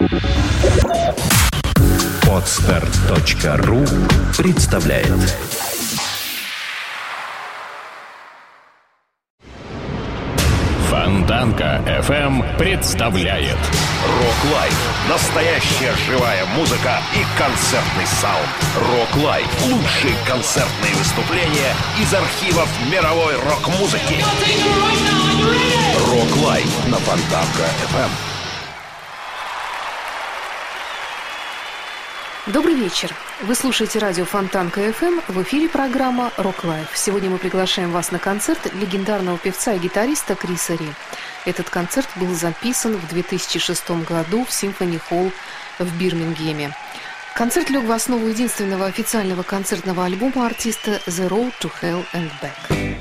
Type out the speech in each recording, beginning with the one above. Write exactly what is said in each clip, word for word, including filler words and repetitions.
Подстер точка ру представляет. Фонтанка эф эм представляет Рок Лайв. Настоящая живая музыка и концертный саунд. Рок Лайв. Лучшие концертные выступления из архивов мировой рок-музыки. Рок Лайв на Фонтанка эф эм. Добрый вечер. Вы слушаете радио Фонтанка эф эм. В эфире программа «Рок Лайв». Сегодня мы приглашаем вас на концерт легендарного певца и гитариста Криса Ри. Этот концерт был записан в две тысячи шестом году в Симфони Холл в Бирмингеме. Концерт лег в основу единственного официального концертного альбома артиста «The Road to Hell and Back».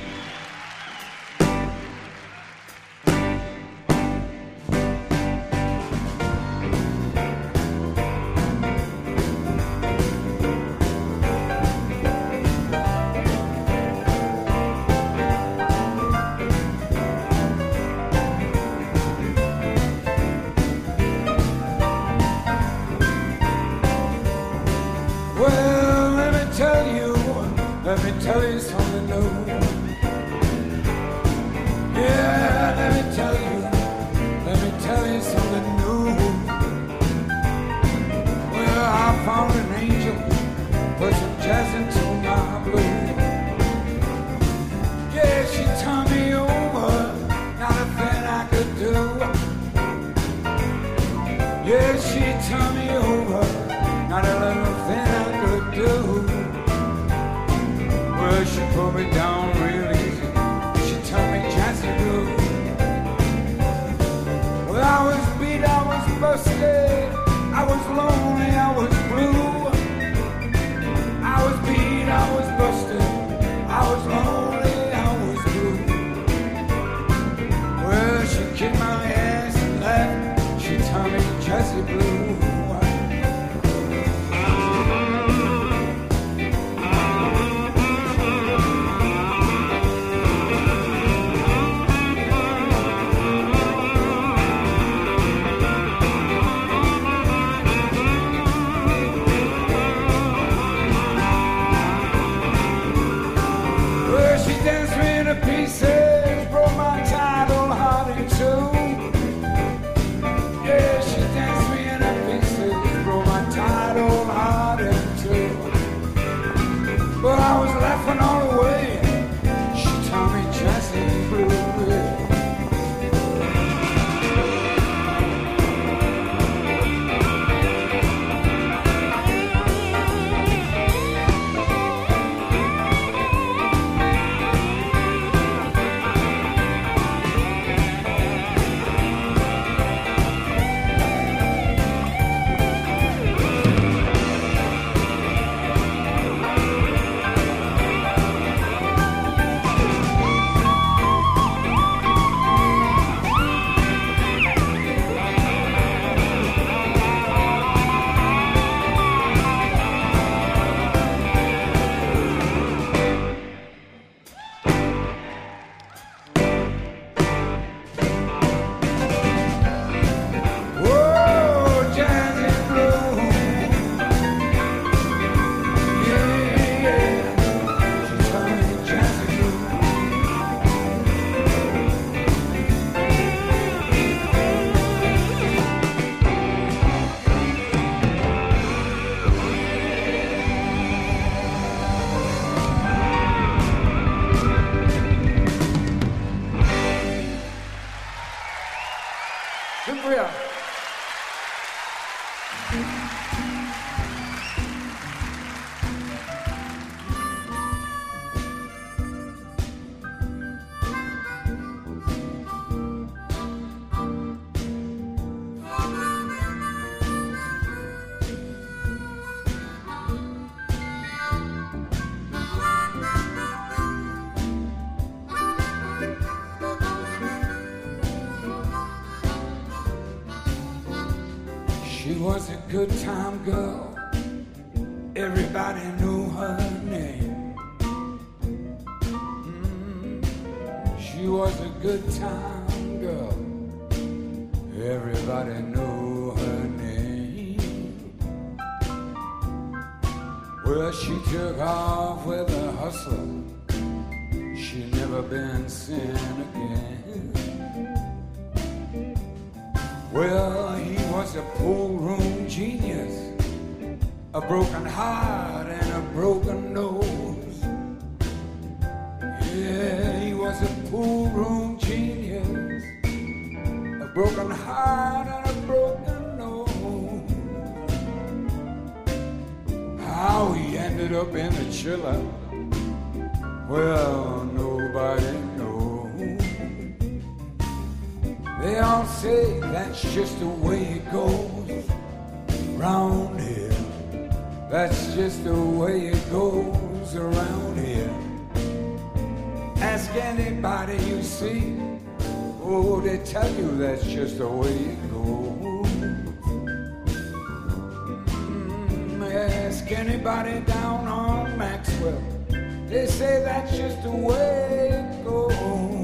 Let me tell you something new. Yeah, let me tell you, let me tell you something new. Well, I found an angel, put some jazz into my blues. Yeah, she turned me over, not a thing I could do. Yeah, she turned me over, not a little thing I could do. Well, she put me down real easy. She taught me jazzy blues. Well, I was beat, I was busted. I was lonely, I was blue. I was beat, I was busted. I was lonely, I was blue. Well, she kicked my ass and left. She taught me jazzy blues. Pieces, broke my title heart in two. Yeah, she danced me into pieces, broke my title heart in two. But I was laughing all the way. She told me jazzy blue. She was a good time girl. Everybody knew her name. Mm, she was a good time girl. Everybody knew her name. Well, she took off with a hustler. She never been seen again. Well, he was a pool room genius, a broken heart and a broken nose. Yeah, he was a pool room genius, a broken heart and a broken nose. How he ended up in the chiller, well, nobody knows. They all say that's just the way it goes round here. That's just the way it goes around here. Ask anybody you see, oh, they tell you that's just the way it goes. Mm, ask anybody down on Maxwell, they say that's just the way it goes.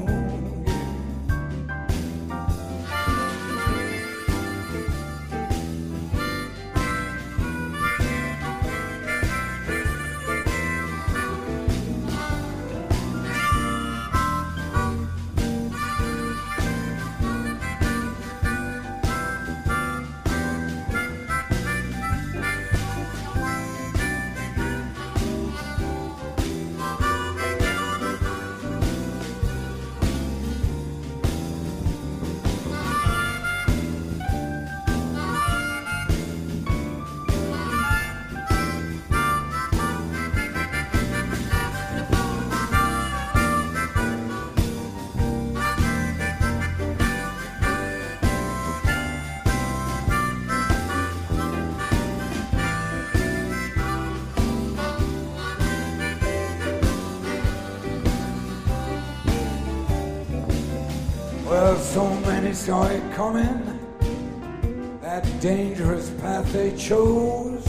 Well, so many saw it coming, that dangerous path they chose.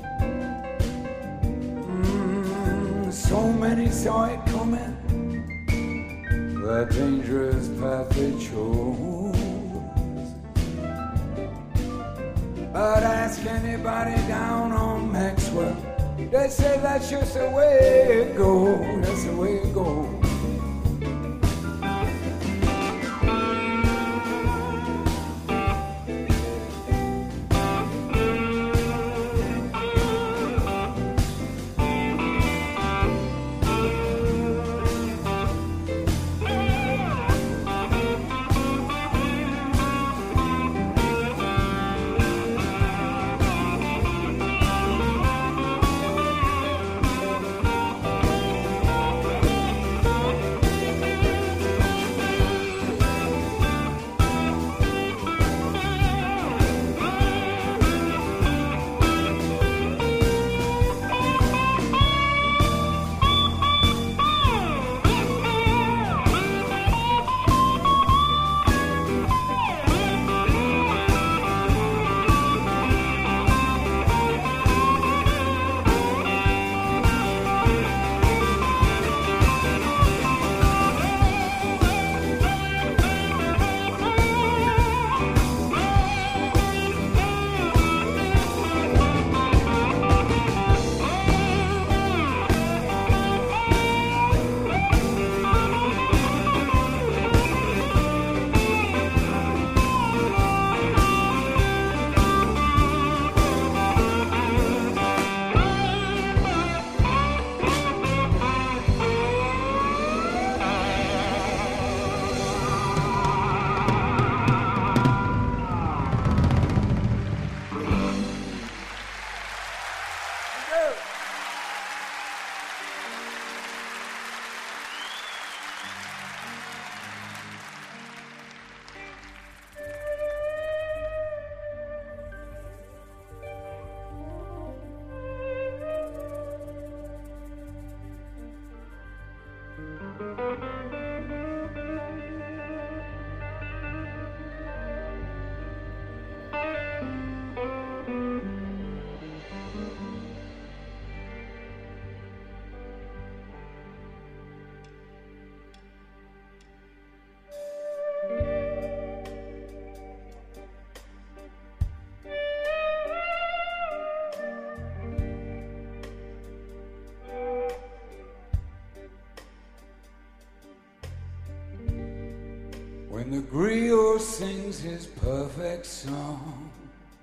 Mm, so many saw it coming, that dangerous path they chose. But ask anybody down on Maxwell, they say that's just the way it goes, that's the way it goes. When the griot sings his perfect song,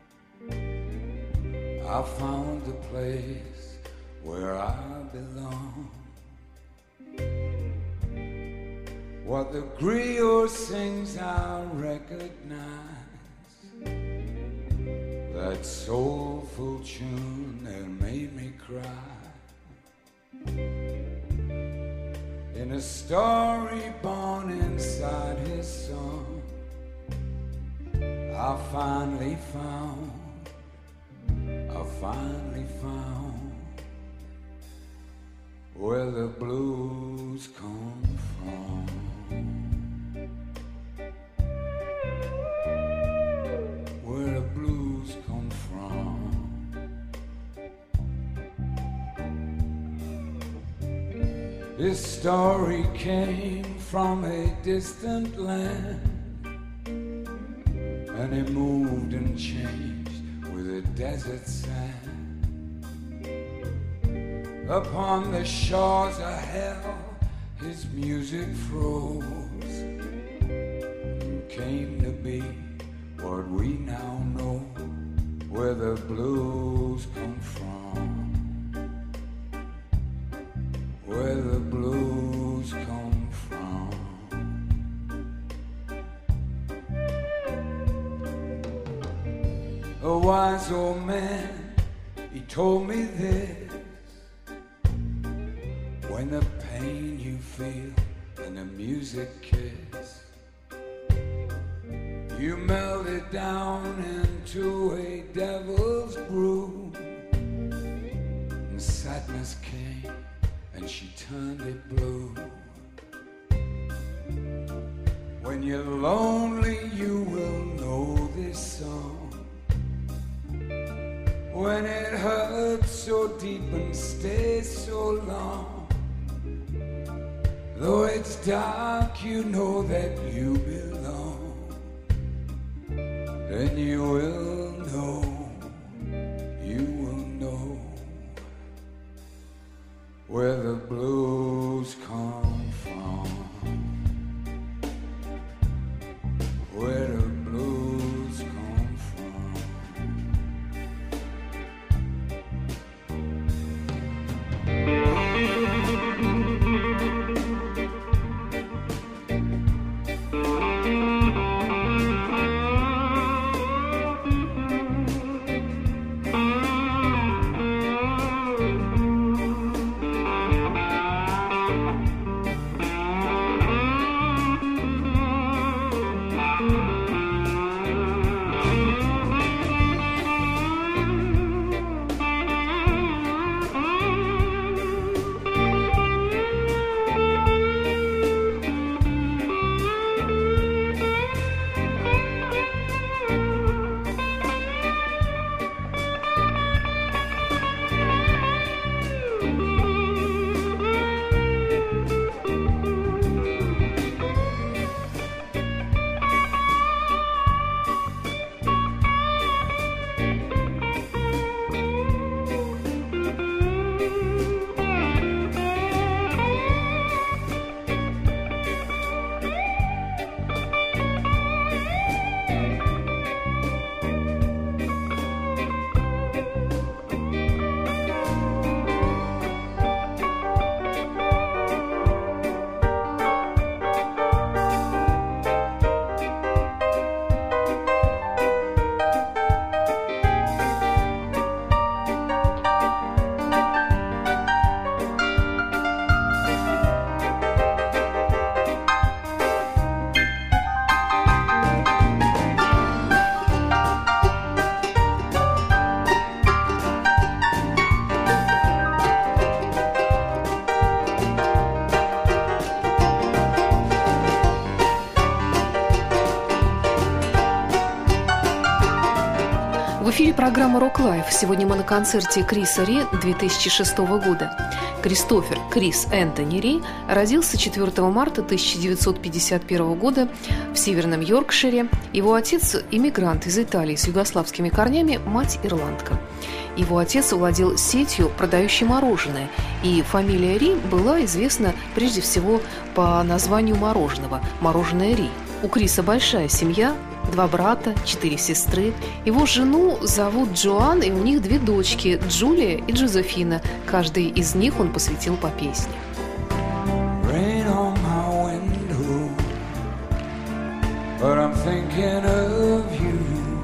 I found the place where I belong. What the griot sings I recognize, that soulful tune that made me cry. In a story born inside his song, I finally found, I finally found where the blues come from. Where the blues come from. This story came from a distant land, and it moved and changed with the desert sand. Upon the shores of hell, his music froze and came to be what we now know, where the blues come from. Where the blues come from. A wise old man, he told me this: when the pain you feel and the music kiss, you melt it down into a devil's brew, and sadness came and she turned it blue. When you're lonely, you will know this song. When it hurts so deep and stays so long, though it's dark, you know that you belong. Then you will know, you will know where the blues come from. Where the blues come from. В эфире программа «Рок Лайф». Сегодня мы на концерте Криса Ри две тысячи шестого года. Кристофер Крис Энтони Ри родился четвёртого марта тысяча девятьсот пятьдесят первого года в Северном Йоркшире. Его отец – иммигрант из Италии с югославскими корнями, мать – ирландка. Его отец владел сетью, продающей мороженое, и фамилия Ри была известна прежде всего по названию мороженого – «Мороженое Ри». У Криса большая семья, два брата, четыре сестры. Его жену зовут Джоан, и у них две дочки, Джулия и Джозефина. Каждой из них он посвятил по песне. Rain on my window, but I'm thinking of you.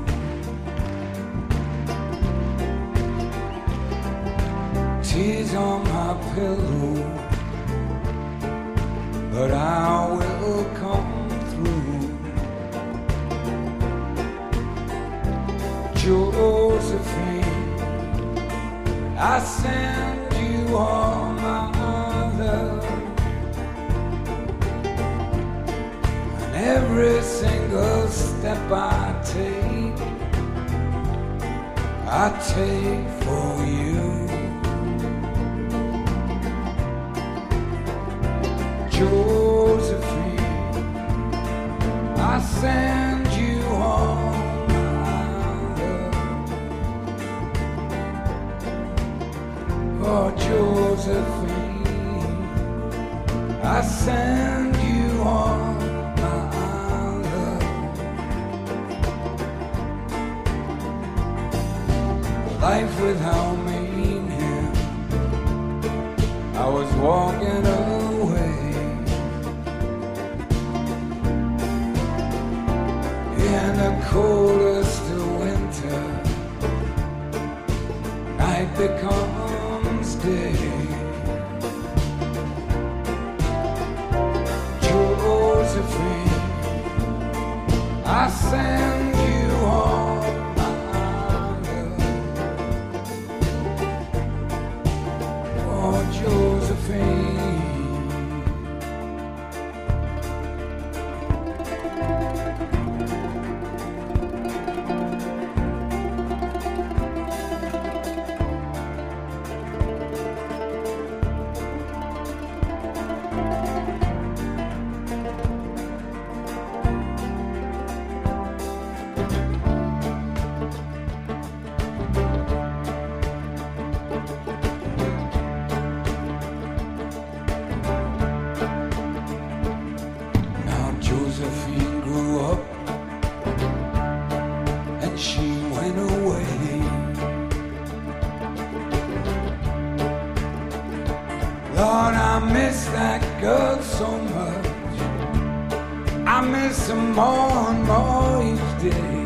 Tears on my pillow, but I will come through. Josephine, I send you all my love, and every single step I take, I take for you. Josephine, I send you all my love. Oh, Josephine, I send you all my love. Life without meaning, I was walking away. In the coldest of winter, night becomes day. Josephine, I send you all my love. Oh, Josephine. Josephine grew up and she went away. Lord, I miss that girl so much. I miss her more and more each day.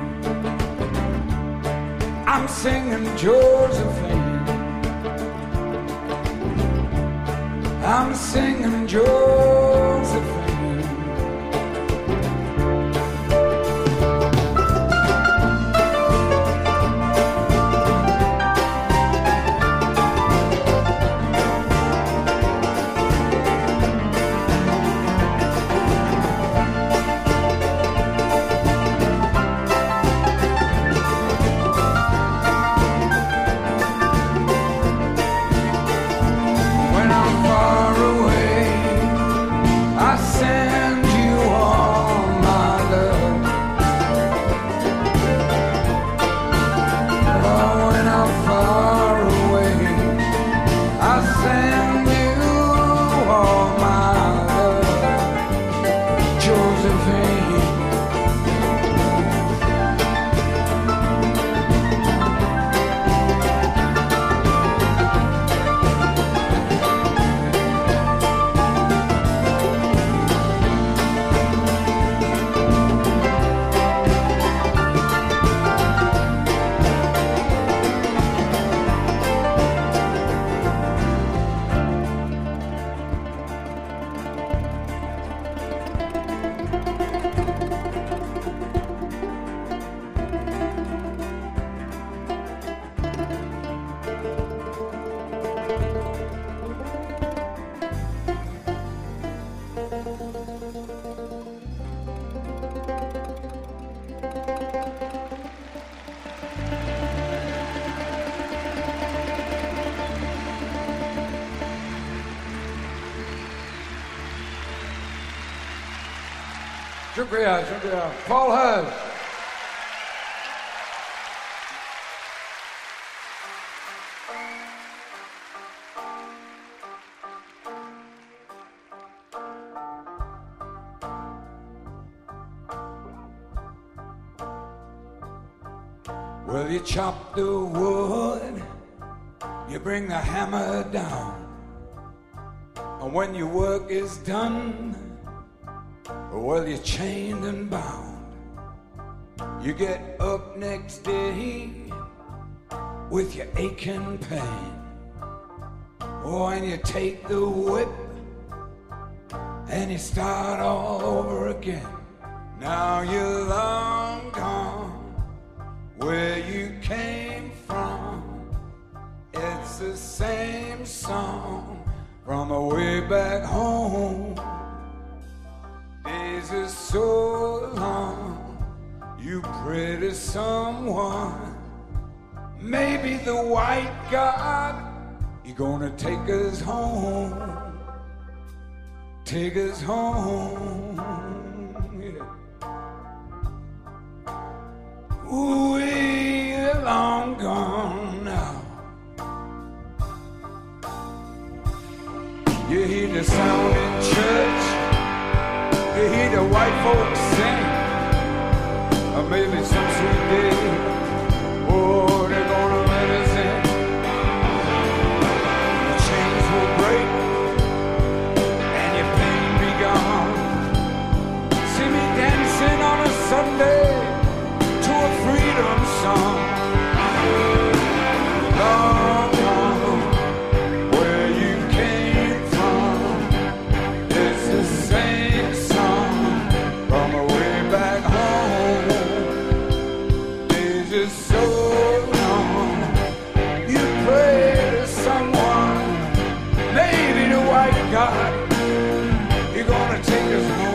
I'm singing Josephine, I'm singing Josephine. Shukriya, shukriya. Paul Hurst. Well, you chop the wood, you bring the hammer down, and when your work is done, well, you're chained and bound. You get up next day with your aching pain. Oh, and you take the whip and you start all over again. Now you're long gone where you came from. It's the same song from way back home. Days are so long, you pray to someone. Maybe the white God, you're gonna take us home. Take us home. Yeah. Ooh, we're long gone now. You hear the sound in church, you hear the white folks sing, or maybe some sweet day, oh, they're gonna let us in. The chains will break and your pain be gone. See me dancing on a Sunday to a freedom song. Long gone where you came from. It's the same song from way back home. Days are so long, you pray to someone. Maybe the white God, you're gonna take us home.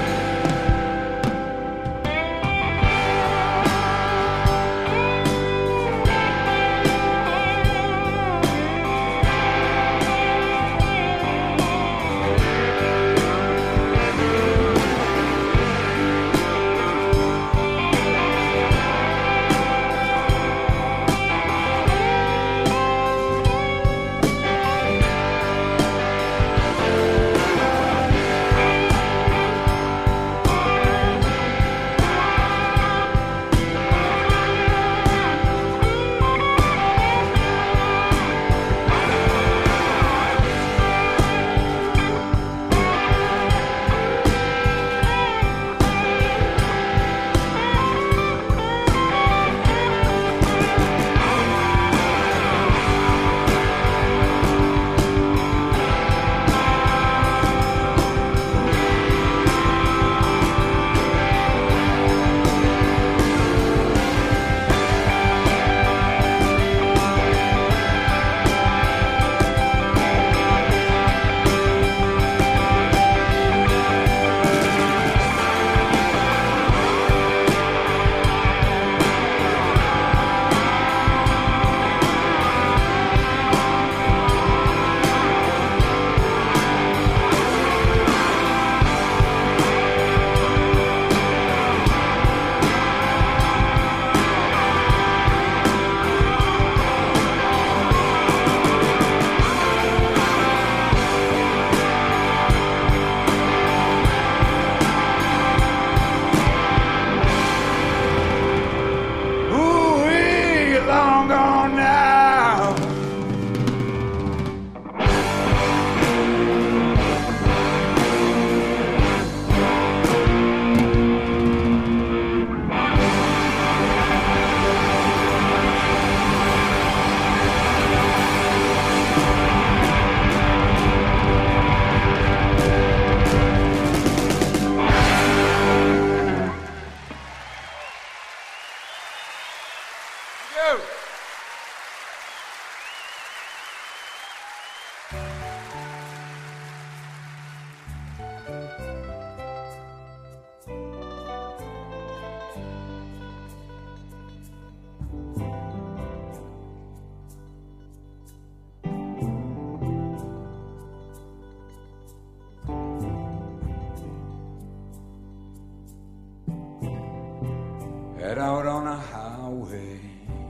Head out on a highway,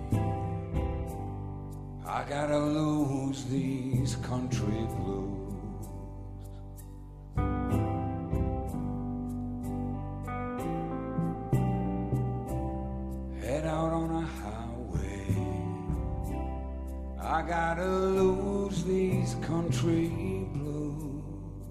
I gotta lose these country blues. Head out on a highway, I gotta lose these country blues.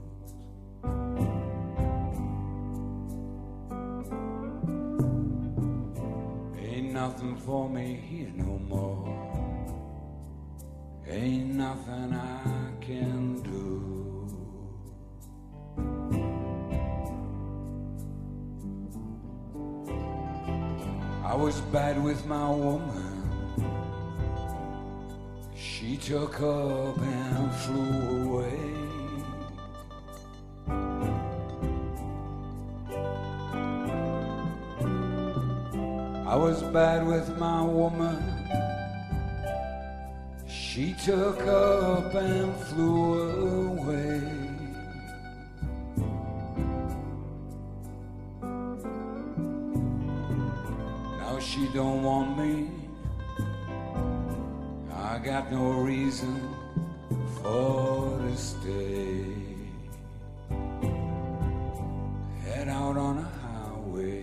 Ain't nothing for me here no more. Ain't nothing I can do. I was bad with my woman. She took up and flew away. I was bad with my woman. She took up and flew away. Now she don't want me. I got no reason for to stay. Head out on a highway.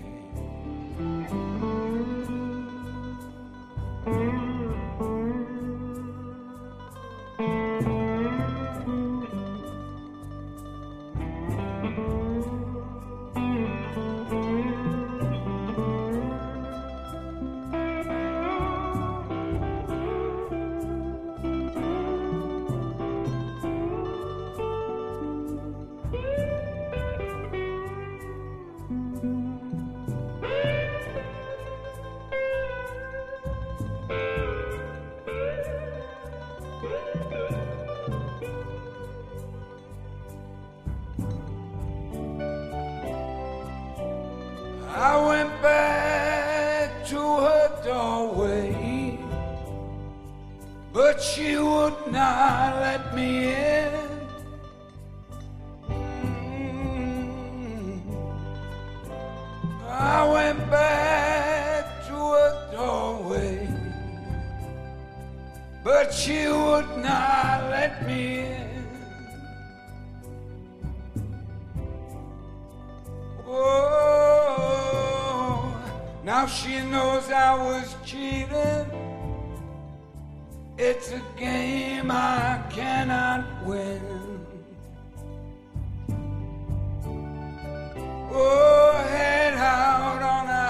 I went back to her doorway, but she would not let me in. Mm. I went back to her doorway, but she would not let me in. Oh, now she knows I was cheating. It's a game I cannot win. Oh, head out on a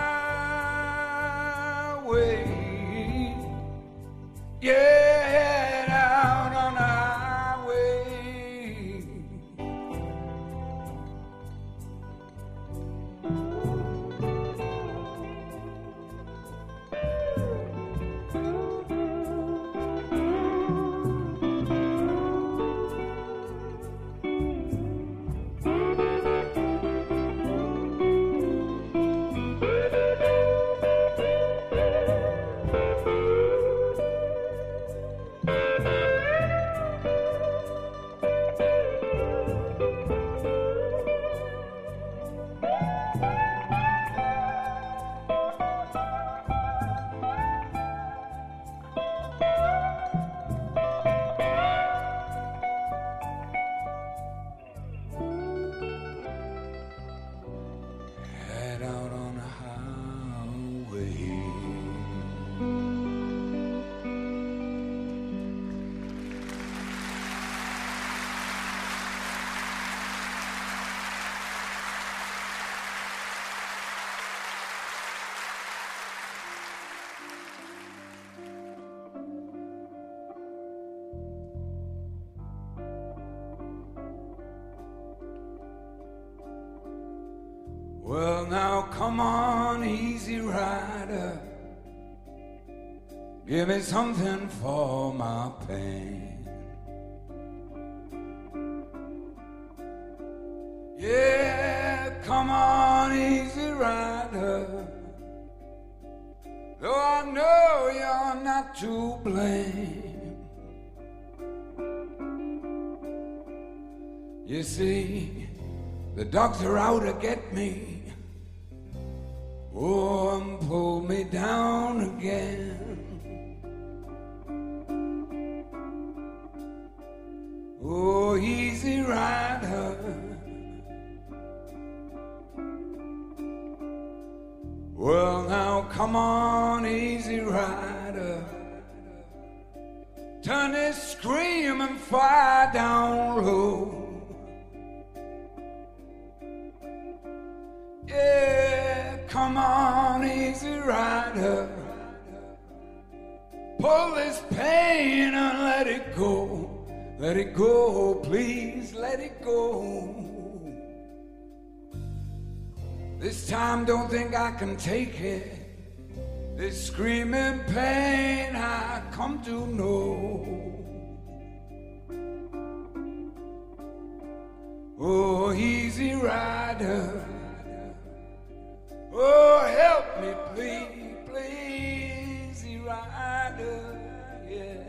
highway. Yeah, head out on a highway. Head out on a highway. Well, now come on, easy rider. Give me something for my pain. Yeah, come on, easy rider. Though I know you're not to blame. You see, the dogs are out to get me. Oh, and pull me down again. Oh, easy rider. Well, now come on, easy rider. turn this screaming fire down low. Yeah, come on, easy rider. Pull this pain and let it go. Let it go, please, let it go. This time don't think I can take it. This screaming pain I come to know. Oh, easy rider. Oh, help me, please, please, easy rider, yeah.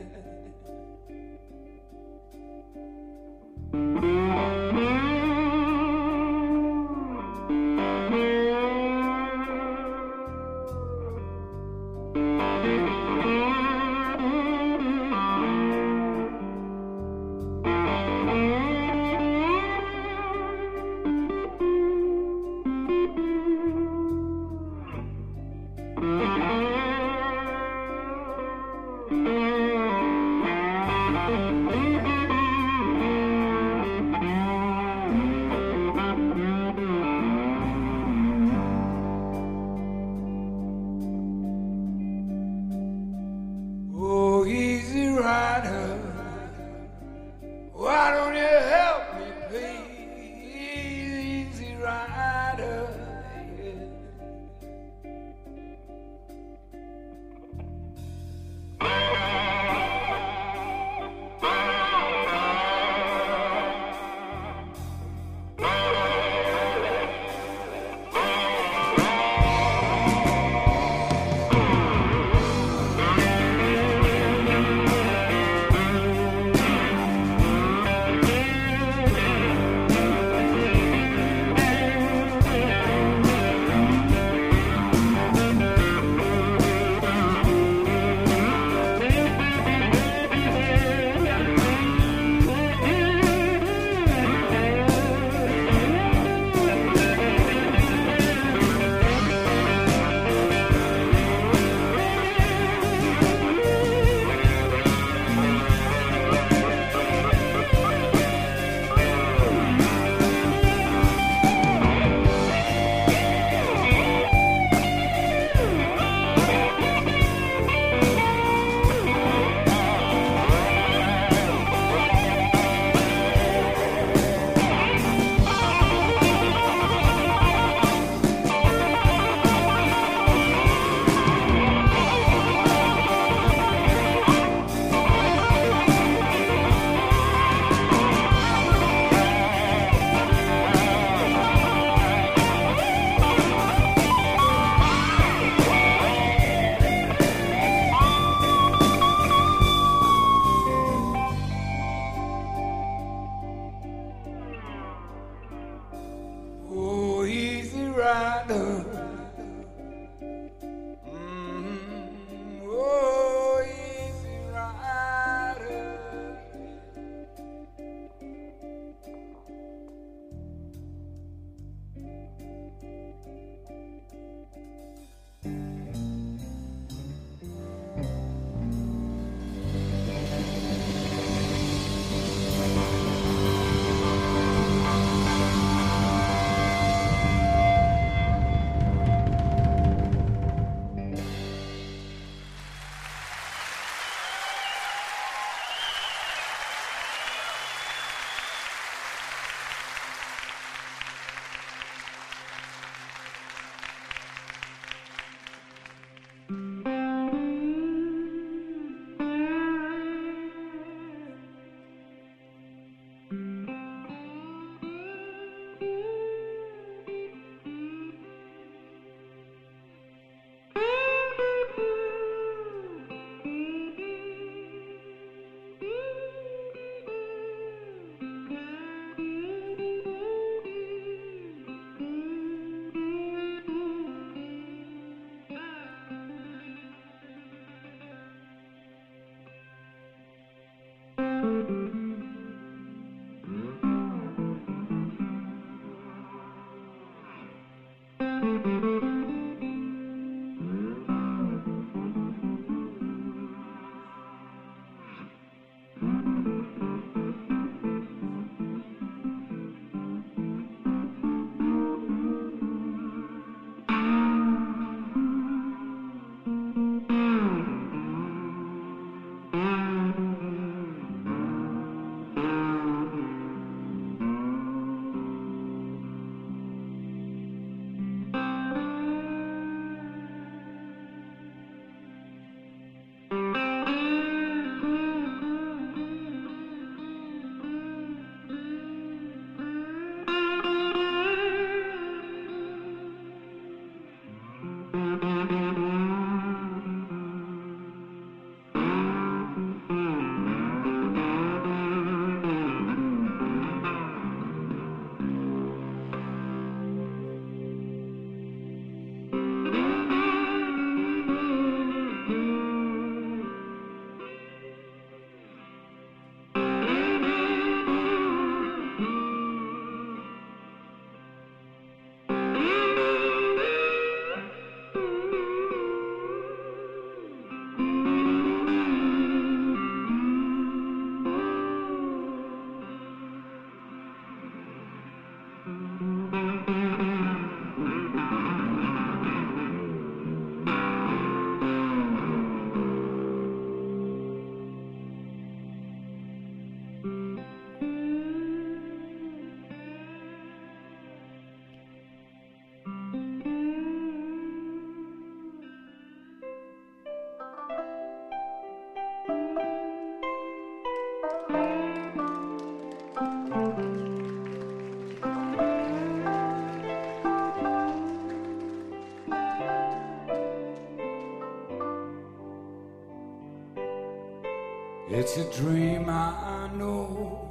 It's a dream I know,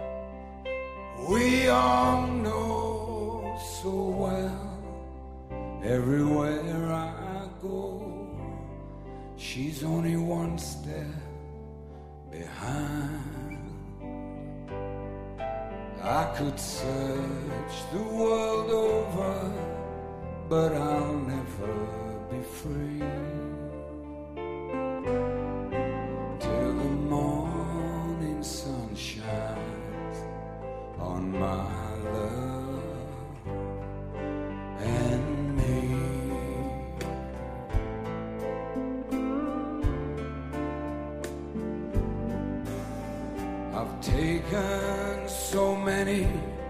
we all know so well. Everywhere I go, she's only one step behind. I could search the world over, but I'll never be free. Taken so many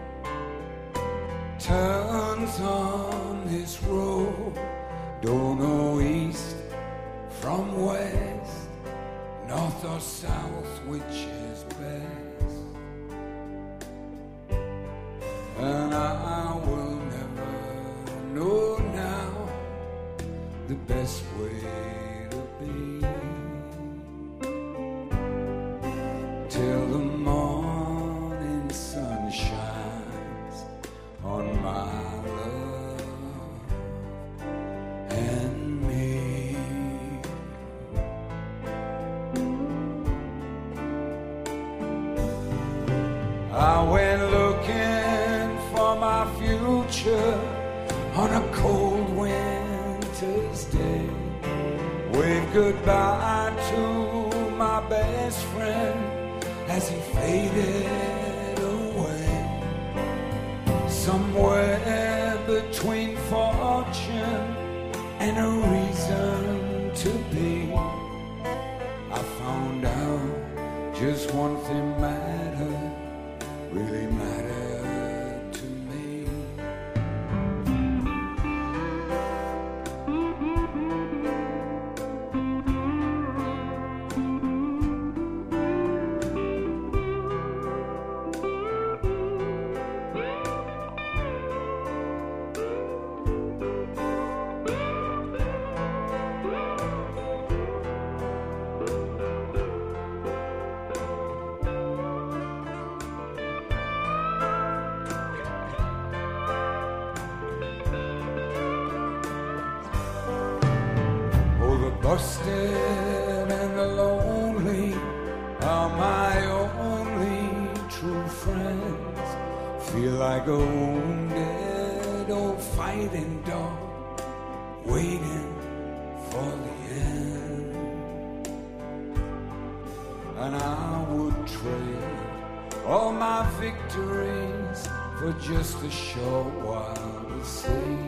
turns on this road, don't know east from west, north or south, which is best. And I will never know now the best way to be till the morning sun shines on my love and me. I went looking for my future on a cold winter's day, waved goodbye to my best friend as he faded away. Somewhere between fortune and a reason to be, I found out just one thing mattered, really mattered to me. Busted and the lonely are my only true friends. Feel like a wounded old fighting dog waiting for the end. And I would trade all my victories for just a short while to see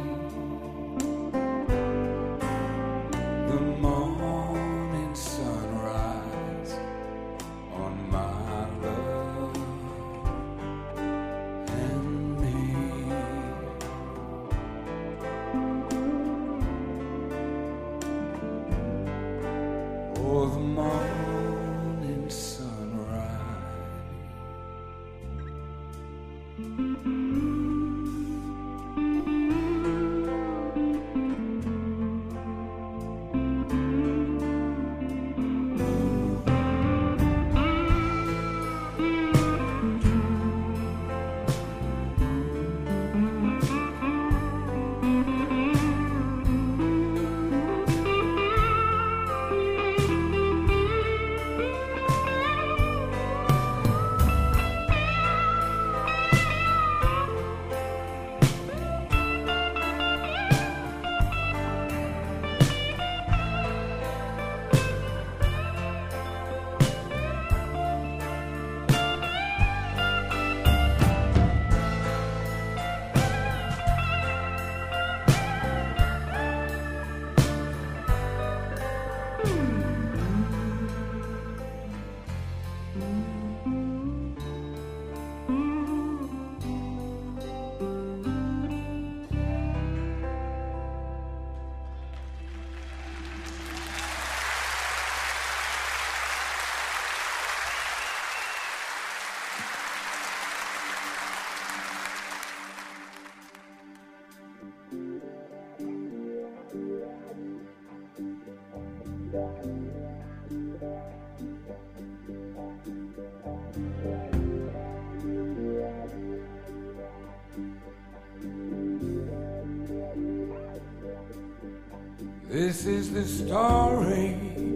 This is the story.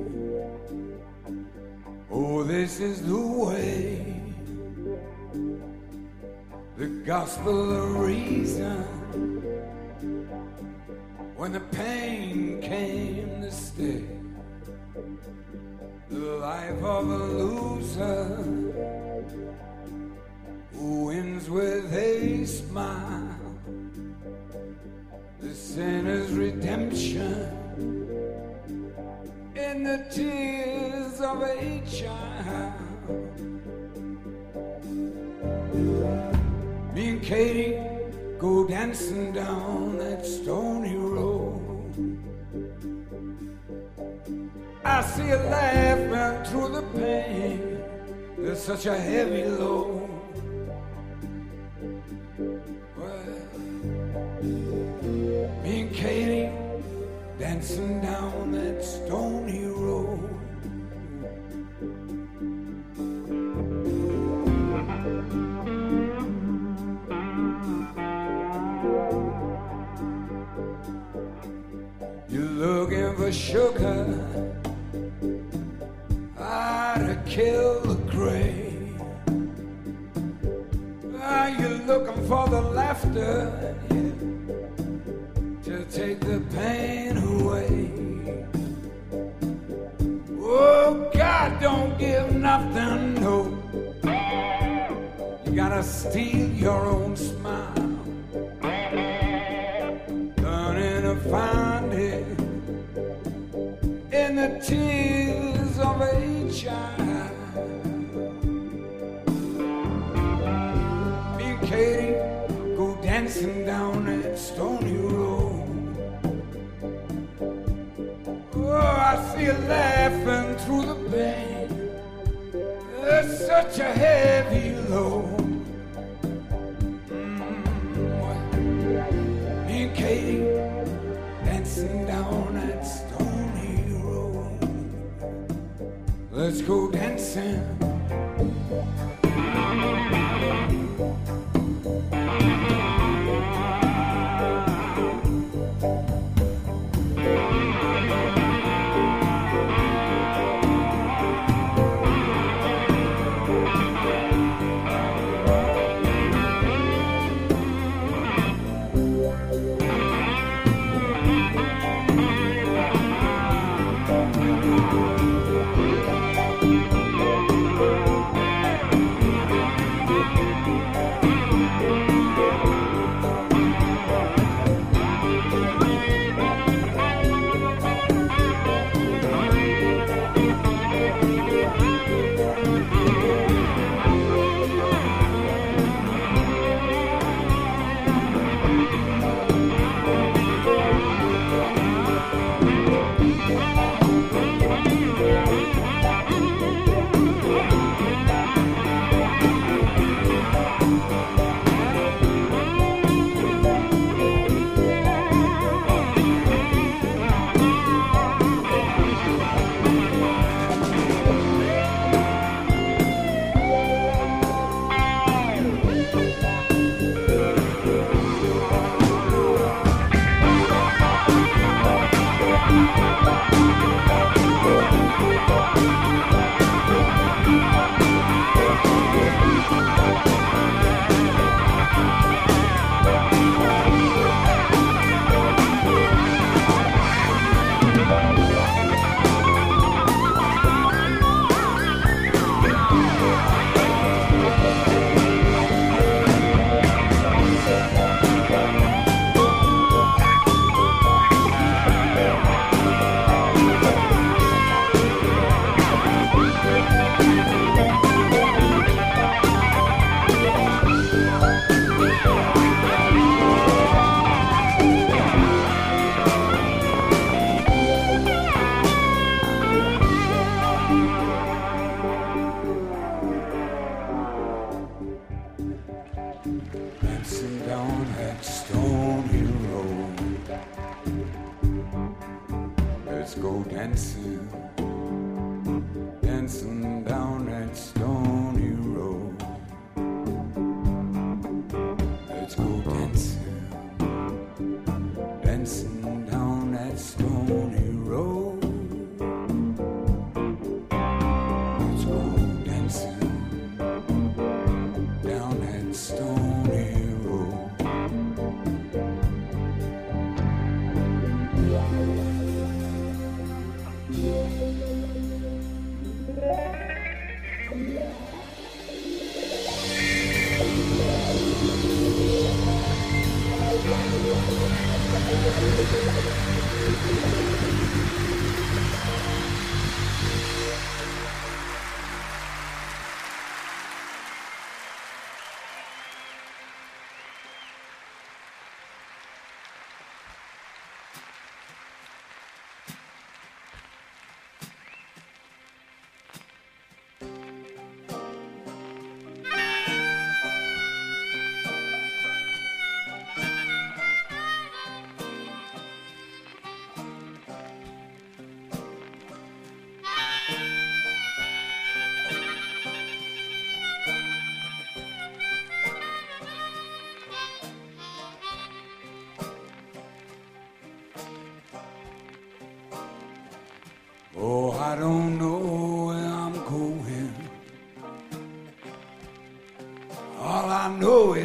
Oh, this is the way. The gospel of reason. When the pain came to stay. The life of a loser who wins with a smile. The sinner's redemption in the tears of a child. Me and Katie go dancing down that stony road. I see her laughing through the pain. There's such a heavy load. Well, me and Katie dancing down that stony road. You're looking for sugar, ah, to kill the grave. Ah, you're looking for the laughter, yeah, to take the pain away. Oh, God don't give nothing, no. You gotta steal your own smile. Learning to find it in the tears of a child. Me and Katie go dancing down that stony road. Oh, I see her laughing through the pain. There's such a heavy load. Mm-hmm. Me and Katie dancing down that stony road. Let's go dancing.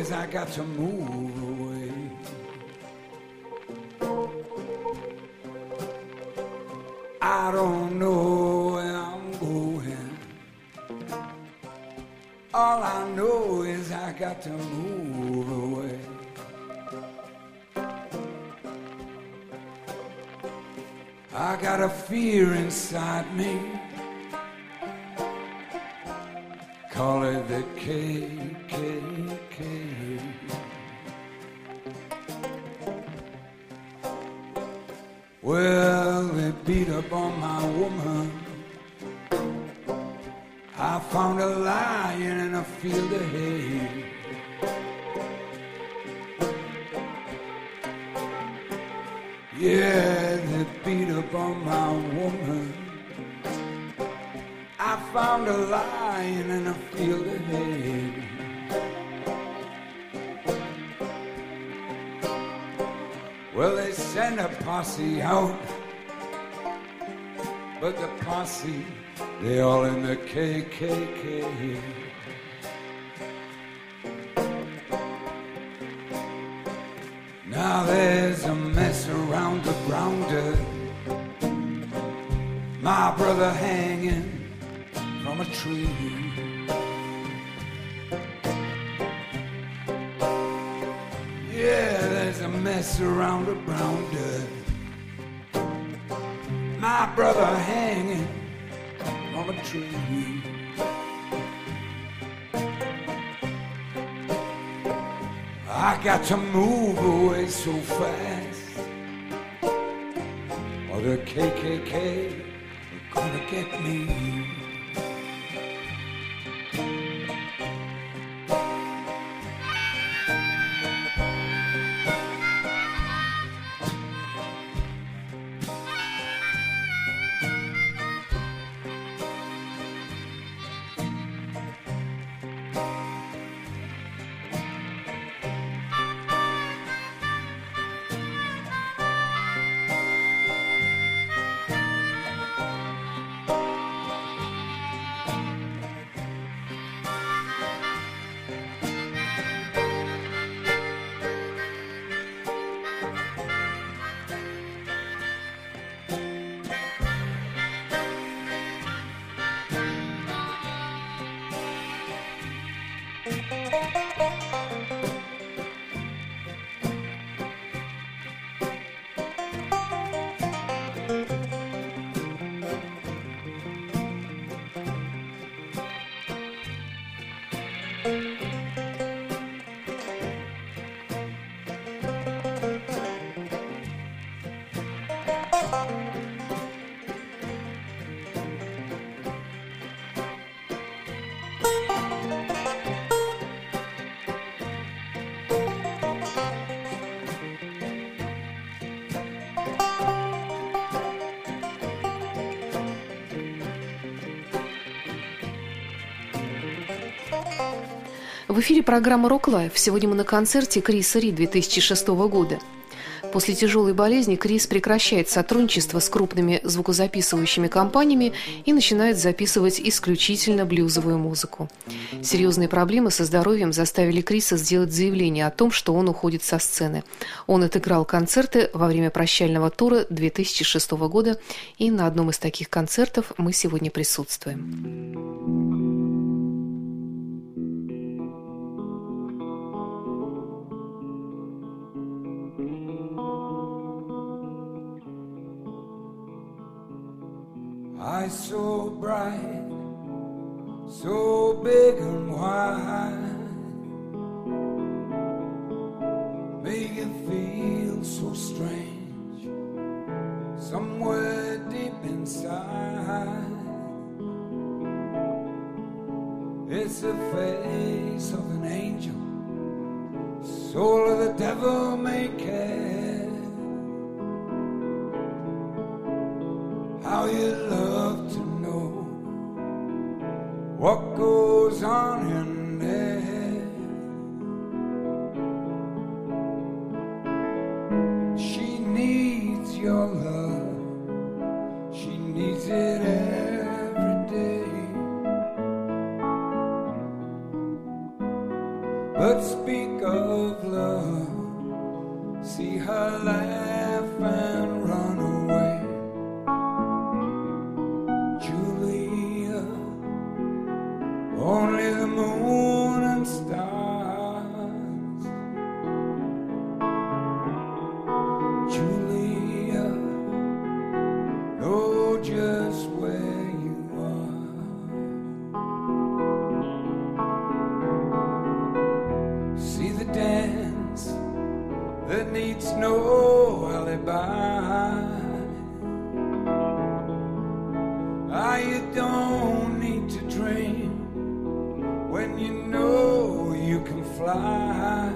is I got to move away. I don't know where I'm going. All I know is I got to move away. I got a fear inside me. Call it the K K K. Well, they beat up on my woman. I found her lying in a field of hay. Yeah, they beat up on my woman. I found her lying in a field of hay. Well, they sent a posse out, but the posse, they all in the K K K. Now there's a mess around the grounder. My brother hanging from a tree. Yeah, there's a mess around the grounder. My brother hanging from a tree. I got to move away so fast, or the K K K are gonna get me. В эфире программа «Рок Лайф». Сегодня мы на концерте Криса Ри две тысячи шестого года. После тяжелой болезни Крис прекращает сотрудничество с крупными звукозаписывающими компаниями и начинает записывать исключительно блюзовую музыку. Серьезные проблемы со здоровьем заставили Криса сделать заявление о том, что он уходит со сцены. Он отыграл концерты во время прощального тура две тысячи шестого года, и на одном из таких концертов мы сегодня присутствуем. Eyes so bright, so big and wide, make you feel so strange, somewhere deep inside. It's the face of an angel, soul of the devil may care. How you love to know what goes on in there. She needs your love, she needs it every day. But speak don't need to dream when you know you can fly.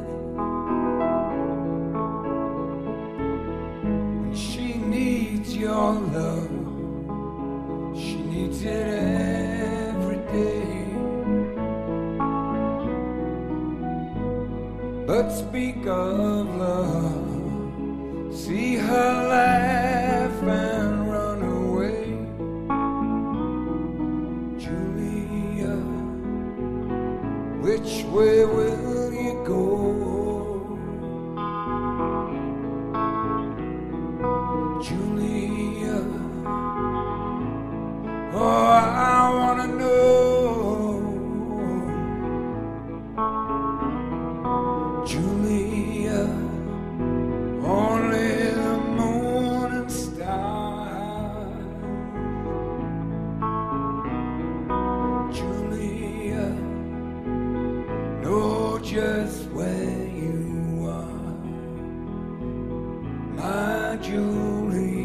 When she needs your love, she needs it every day. But speak of love, see her laugh and run away. Julia, which way will you go? Julia, oh, I wanna know. Julia, only the moon and stars. Julia, know just where you are, my Julia.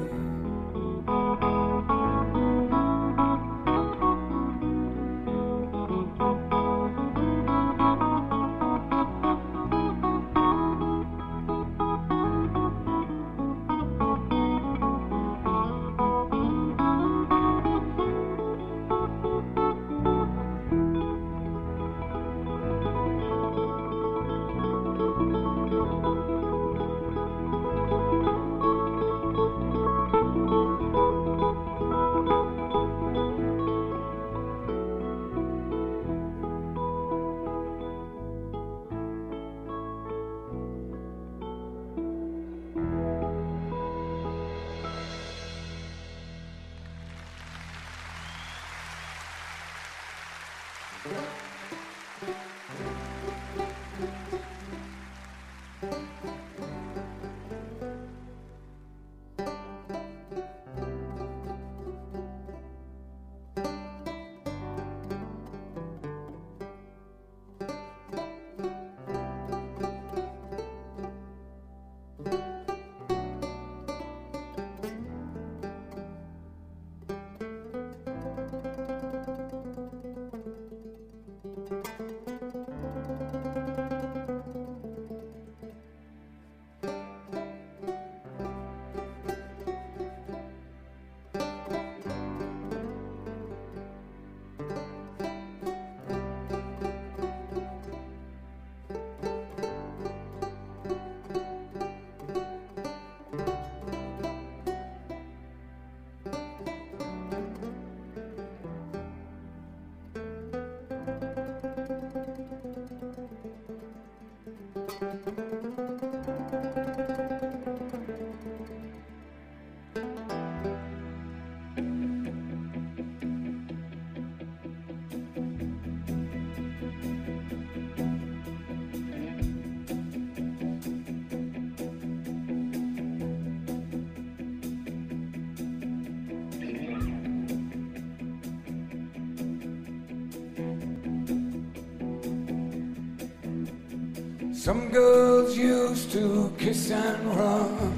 Some girls used to kiss and run,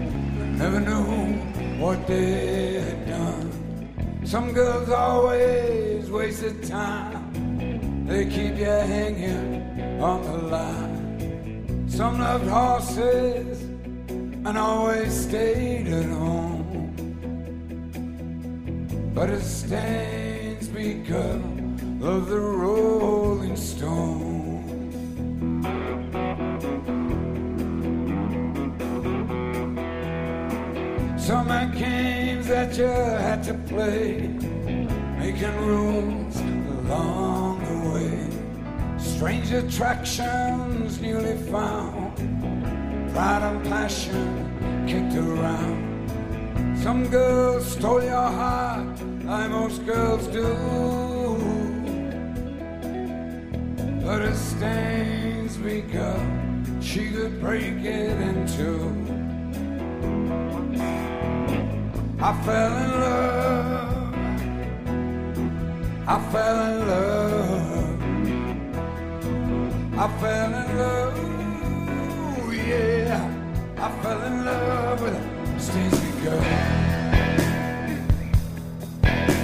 never knew what they had done. Some girls always wasted time, they keep you hanging on the line. Some loved horses and always stayed at home, but it stands because of the Rolling Stone. Some had games that you had to play, making rules along the way. Strange attractions newly found, pride and passion kicked around. Some girls stole your heart, like most girls do, but it stains because she could break it in two. I fell in love, I fell in love, I fell in love, yeah, I fell in love with a Stacey girl.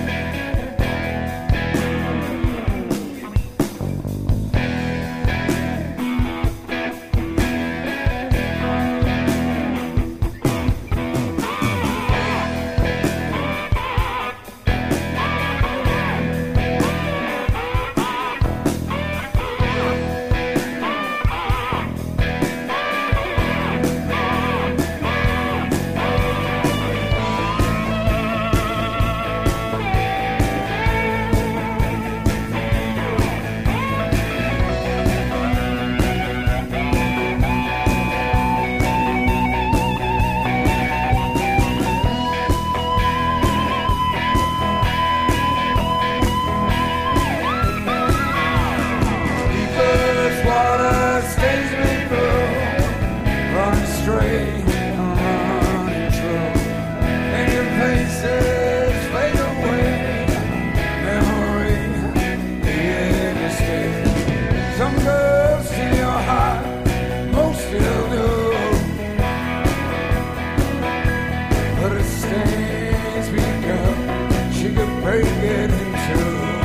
get into.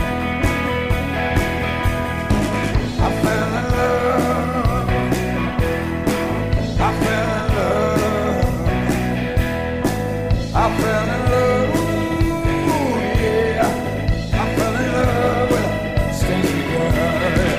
I fell in love. I fell in love. I fell in love. Ooh, yeah. I fell in love with a stinky girl.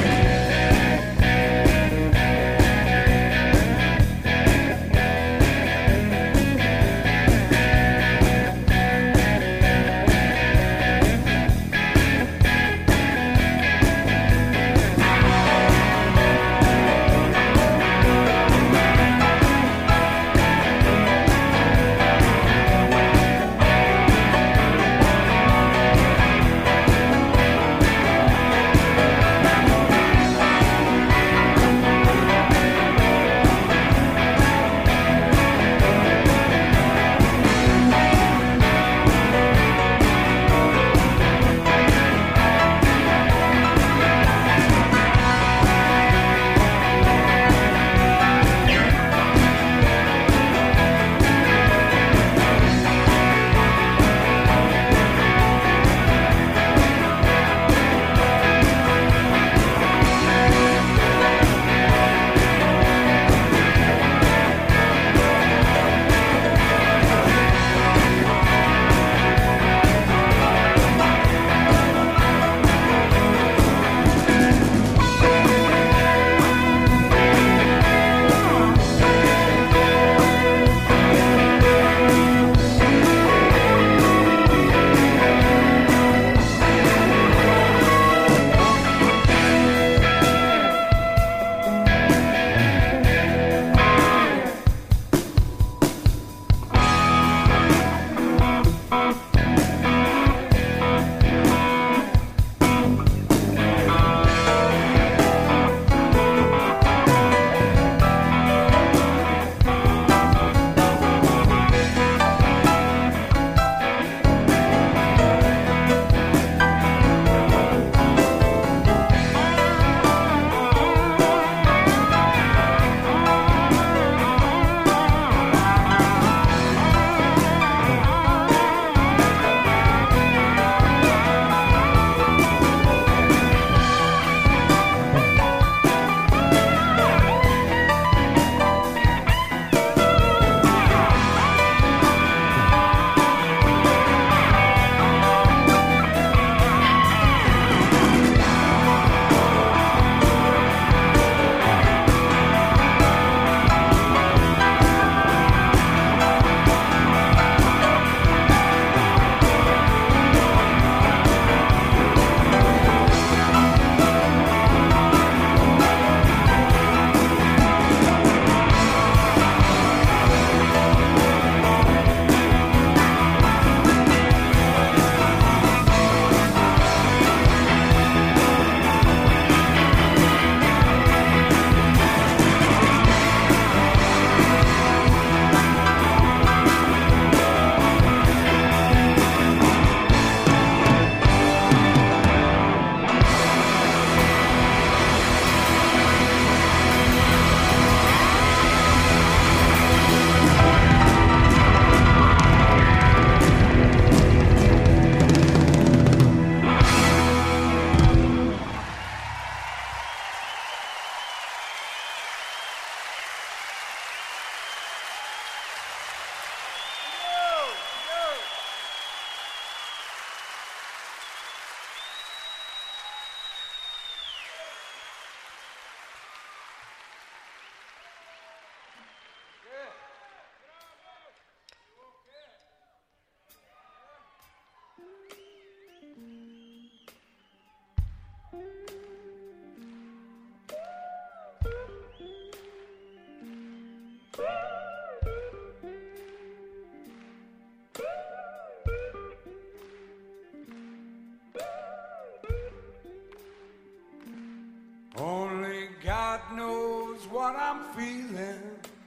what I'm feeling.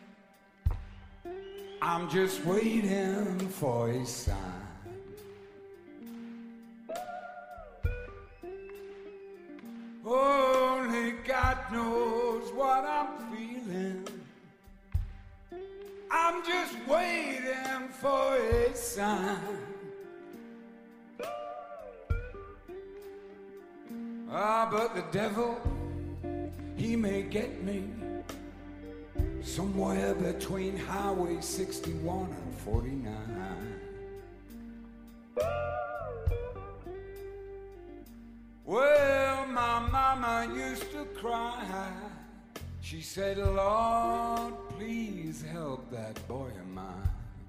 I'm just waiting for a sign. Only God knows what I'm feeling. I'm just waiting for a sign. Ah, but the devil, he may get me somewhere between Highway sixty-one and forty-nine. Well, my mama used to cry. She said, Lord, please help that boy of mine.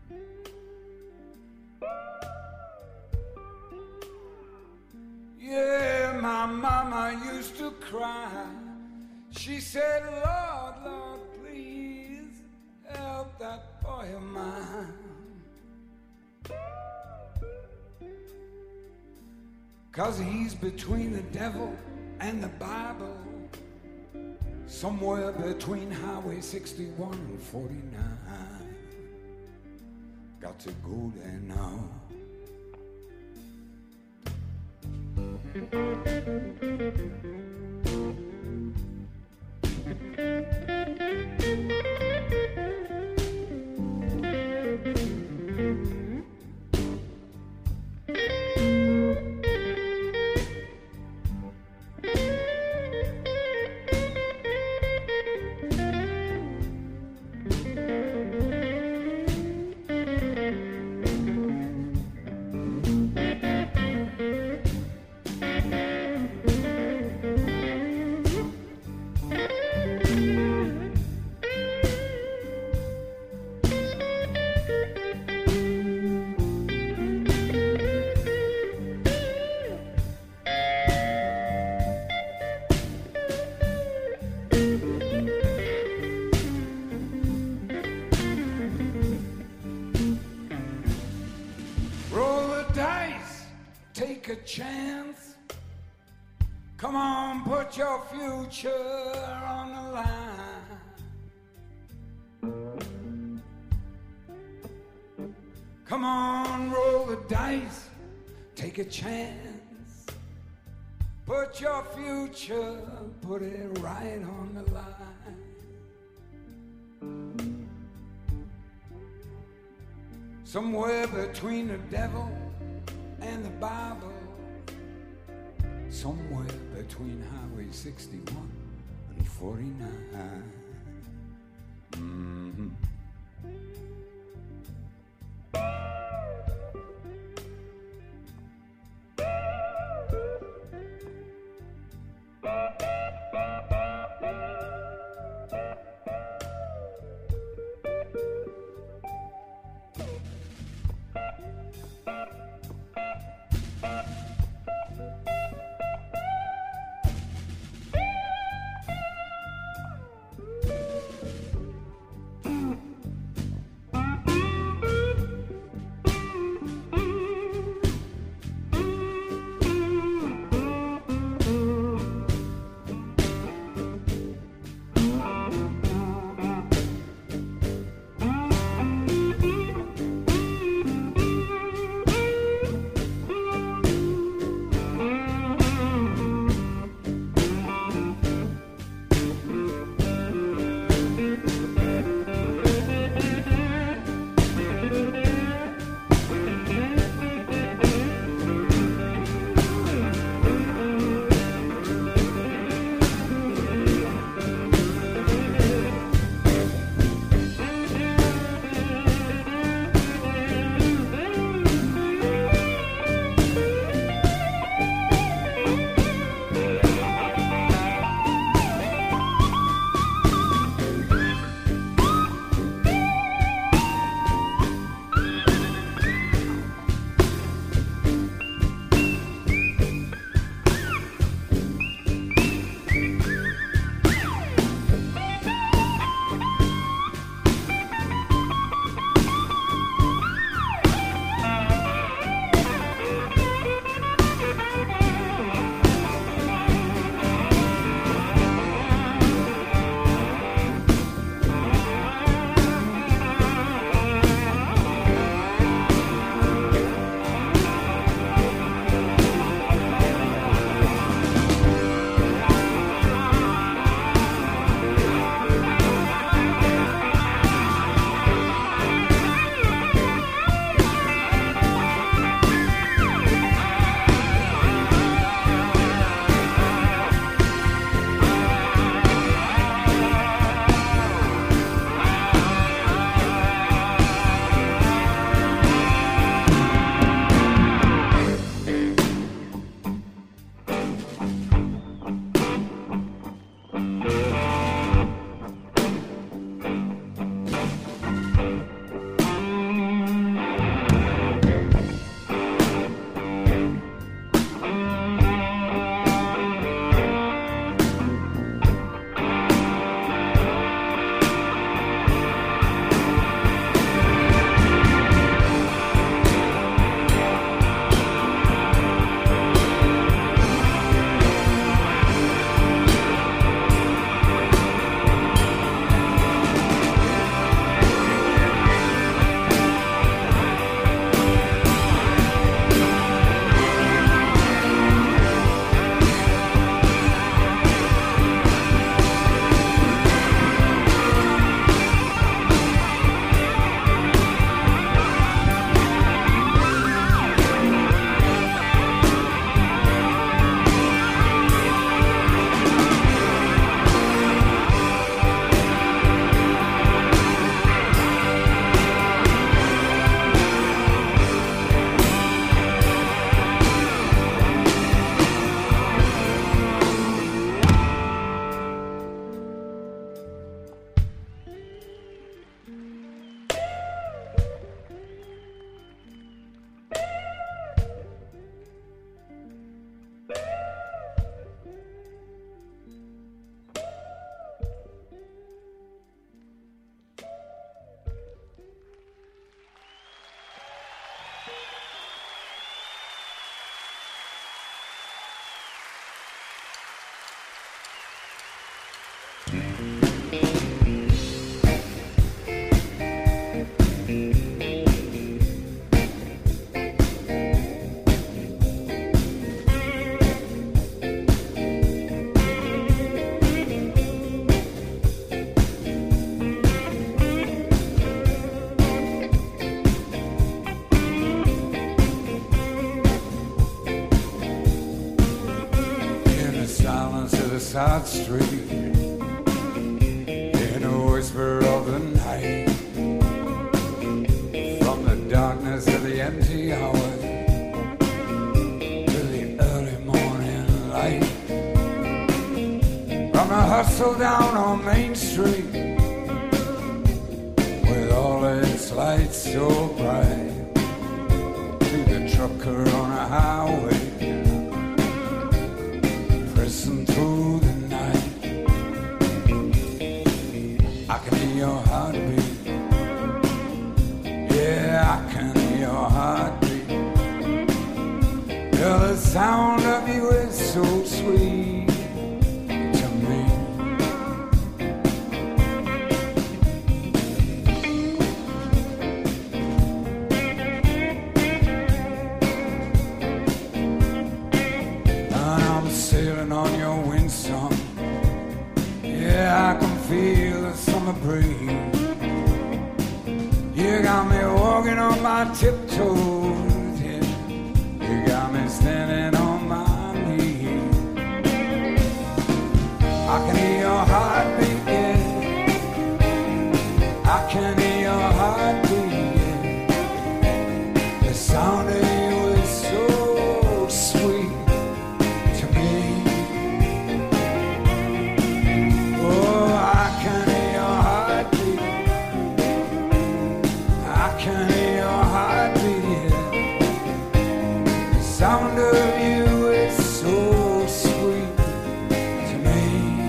Yeah, my mama used to cry. She said, Lord, Lord, please help that boy of mine. 'Cause he's between the devil and the Bible, somewhere between Highway sixty-one and forty-nine. Got to go there now. A chance. Come on, put your future on the line. Come on, roll the dice, take a chance. Put your future, put it right on the line. Somewhere between the devil and the Bible, somewhere between Highway sixty-one and forty-nine. Mm-hmm. Side street, in a whisper of the night, from the darkness of the empty hour to the early morning light, from the hustle down on Main Street, with all its lights so bright, to the trucker on a highway, pressing through the night. I can hear your heartbeat. Yeah, I can hear your heartbeat. Yeah, the sound of you is so sweet to me. And I'm sailing on your windsong. Yeah, I can feel the summer breeze. You got me walking on my tiptoes, yeah. You got me standing on my knees. I can hear your heartbeat, yeah. I can hear your heartbeat, yeah. The sound of you is so sweet to me. Oh, I can hear your heartbeat. I can hear your heartbeat, yeah. The sound of you is so sweet to me.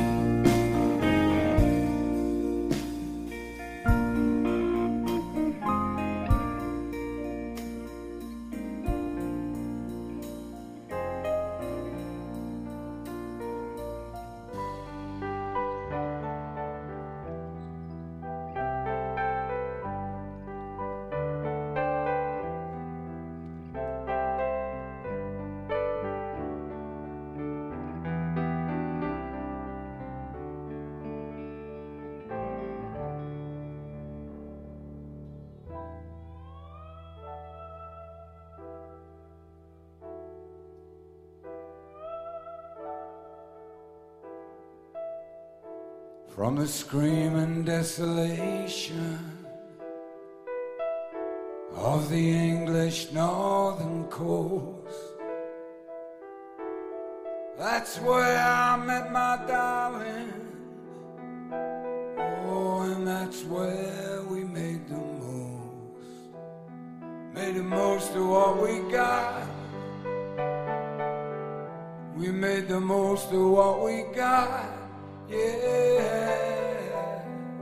From the screaming desolation of the English northern coast, that's where I met my darling. Oh, and that's where we made the most, made the most of what we got. We made the most of what we got. Yeah,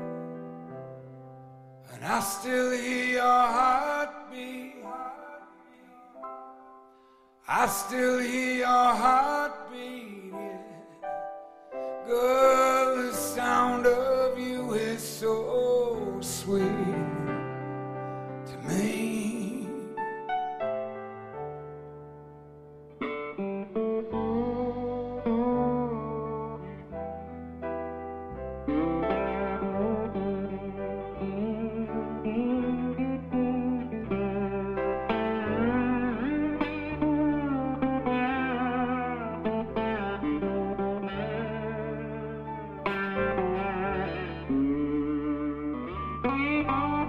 and I still hear your heartbeat. I still hear your heartbeat, yeah. Girl, the sound of you is so sweet to me. Thank you.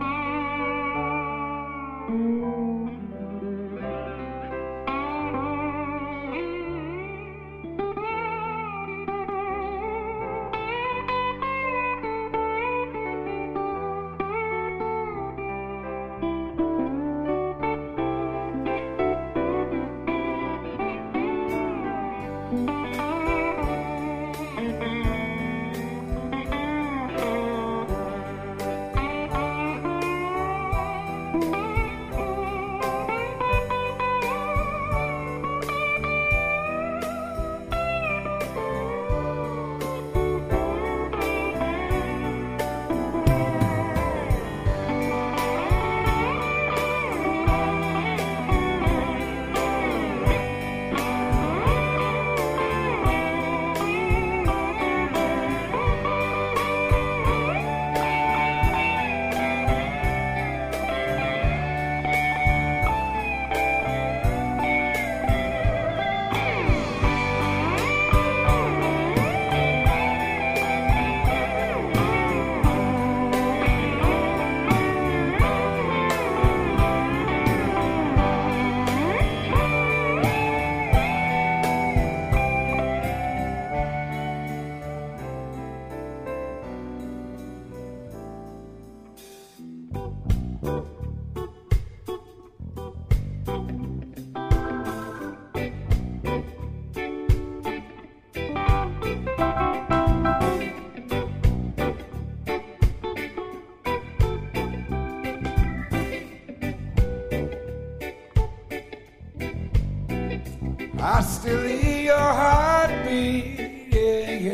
still hear your heartbeat, yeah,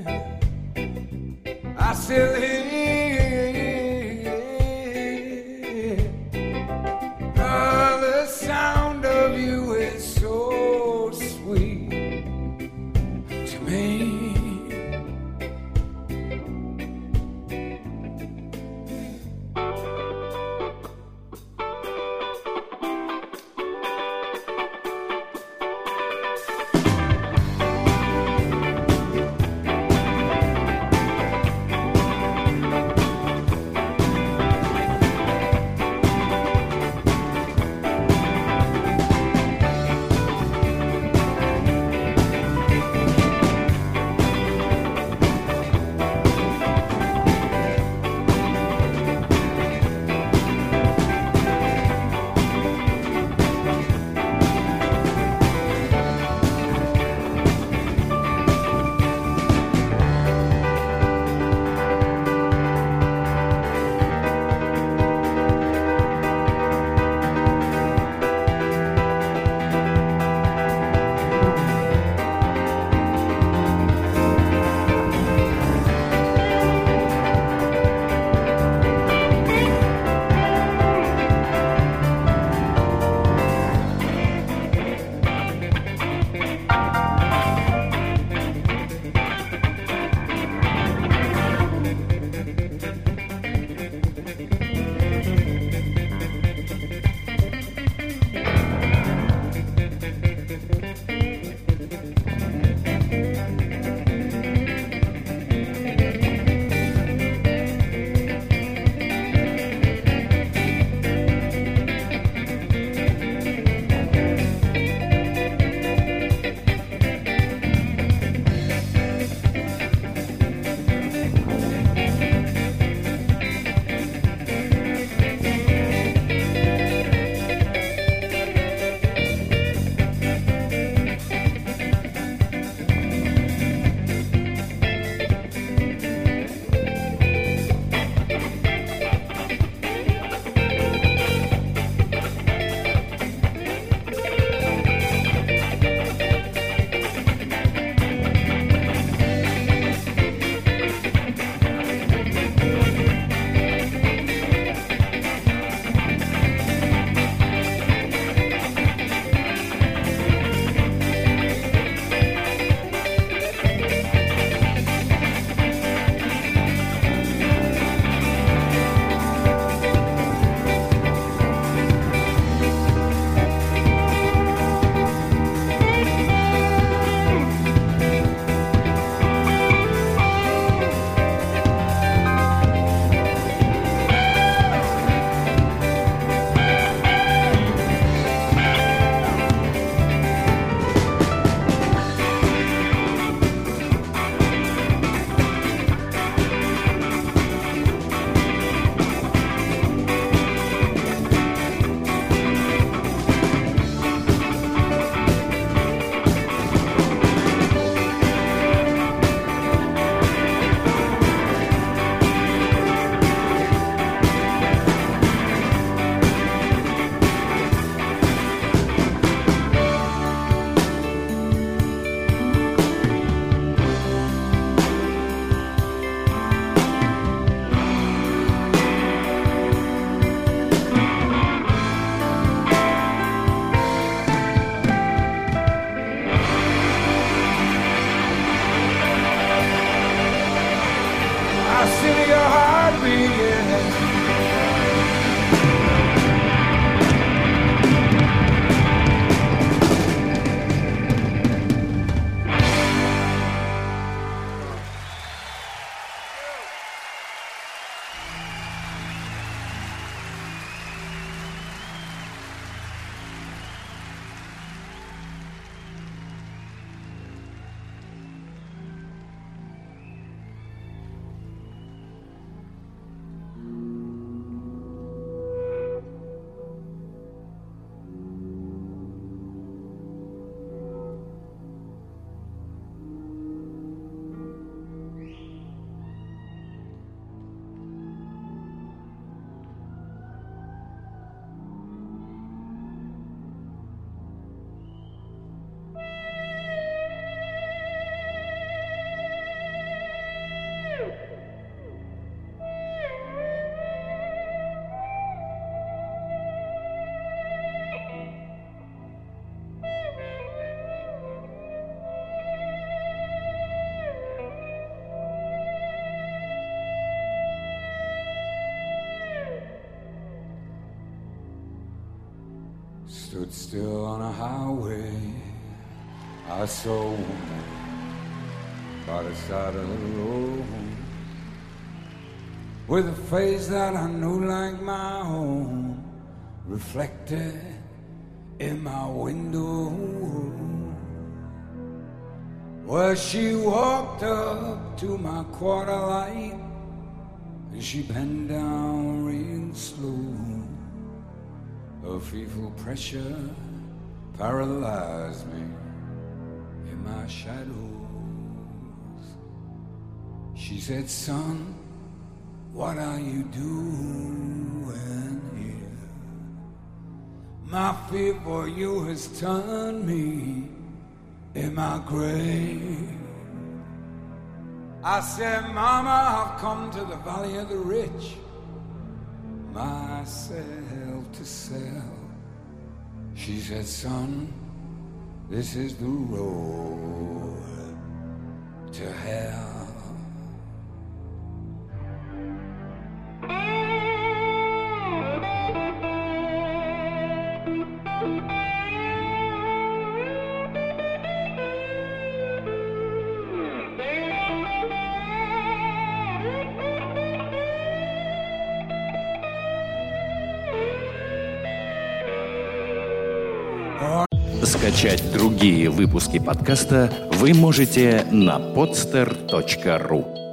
yeah. I still hear oh, the sound of you is so sweet to me. stood still on a highway. I saw a woman by the side of the road with a face that I knew like my own, reflected in my window. Well, she walked up to my quarter light and she bent down real slow. Her fearful pressure paralyzed me in my shadows. She said, son, what are you doing here? My fear for you has turned me in my grave. I said, Mama, I've come to the valley of the rich, myself to sell. She said, son, this is the road to hell. Скачать другие выпуски подкаста вы можете на podster точка ру.